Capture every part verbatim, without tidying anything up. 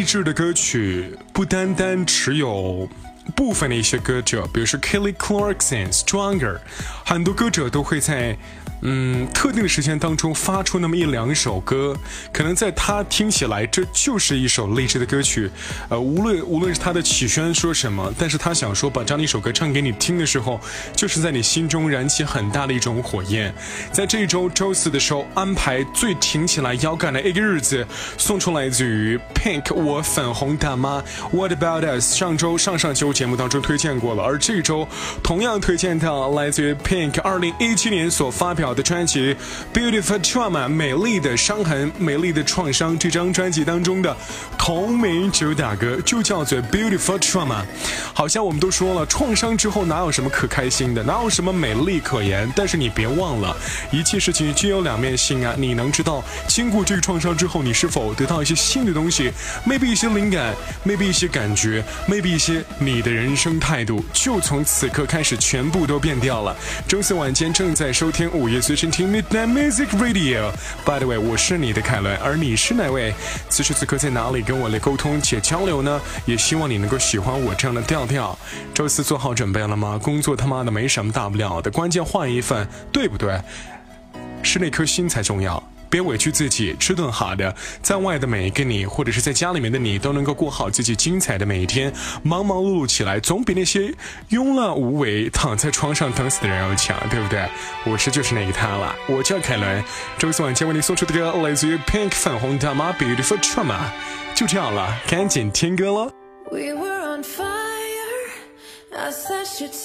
志的歌曲不单单只有部分的一些歌者，比如说 Kelly Clarkson、Stronger， 很多歌者都会在嗯特定的时间当中发出那么一两首歌，可能在他听起来这就是一首励志的歌曲，呃，无论无论是他的起宣说什么，但是他想说把这样的一首歌唱给你听的时候，就是在你心中燃起很大的一种火焰。在这一周周四的时候安排最挺起来腰杆的一个日子，送出来自于 Pink 我粉红大妈 What About Us， 上周上上周节目当中推荐过了，而这一周同样推荐到来自于 Pink 二零一七年所发表的专辑 Beautiful Trauma 美丽的伤痕美丽的创伤，这张专辑当中的同名主打歌就叫做 Beautiful Trauma。 好像我们都说了，创伤之后哪有什么可开心的，哪有什么美丽可言，但是你别忘了一切事情均有两面性啊！你能知道经过这个创伤之后你是否得到一些新的东西， maybe 一些灵感， maybe 一些感觉， maybe 一些你的人生态度就从此刻开始全部都变掉了。周四晚间正在收听午夜随身听 Midnight Music Radio， By the way， 我是你的凯伦，而你是哪位？此时此刻在哪里跟我来沟通且交流呢？也希望你能够喜欢我这样的调调。周四做好准备了吗？工作他妈的没什么大不了的，关键换一份，对不对？是那颗心才重要，别委屈自己，吃顿好的，在外的每一个你，或者是在家里面的你，都能够过好自己精彩的每一天。忙忙碌碌起来，总比那些慵懒无为躺在床上等死的人要强，对不对？我是就是那个他了，我叫凯伦。周四晚间为你送出的歌来自于 Pink 粉红大妈 Beautiful Trauma， 就这样了，赶紧听歌了。 We were on fire, I slashed your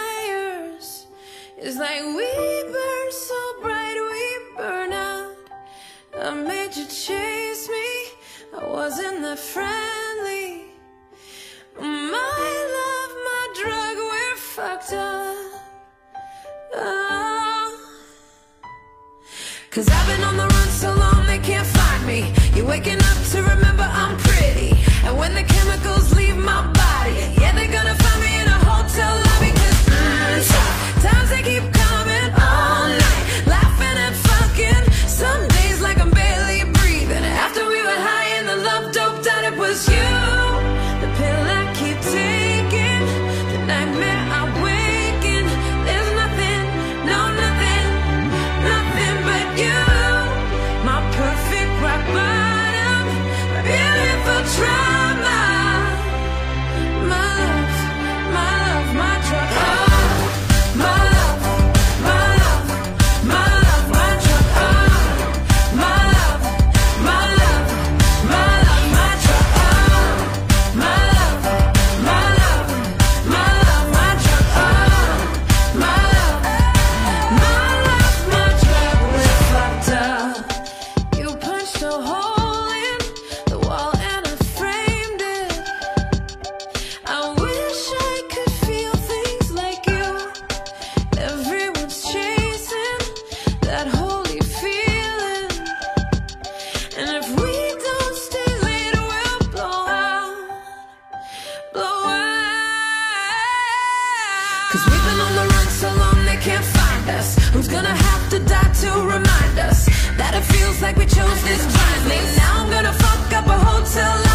tires. It's like we burn so bright, we burn out. I made you chase me, I wasn't that friendly. My love, my drug, we're fucked up. Oh. Cause I've been on the run so long they can't find me. You're waking up to remember I'm pretty. And when the chemicals leave my body, yeah, they're gonna find me in a hotel lobby. Cause mm, tough times they keep coming all night, laughing and fucking. Some days like I'm barely breathing. After we were high and the love doped out, it was you. The pill I keep taking, the nightmare I wake in. There's nothing, no nothing, nothing but you. My perfect rock bottom, beautiful trauma. My love, my love, my drug. Oh, my love, my love, my love, my drug. Oh, my love, my love, my love, my drug. Oh, my love, my love, my love, my drug. Oh, my love, my love, my drug. We're fucked up. You punched a hole in the wall and I framed it. I wish I could feel things like you. Everyone's chasing that holy feeling. And if we don't stay late, we'll blow out, blow out. Cause we've been on the run so long they can't find us. Who's gonna have to die to remind us that it feels like we chose this blindly? Now I'm gonna fuck up a hotel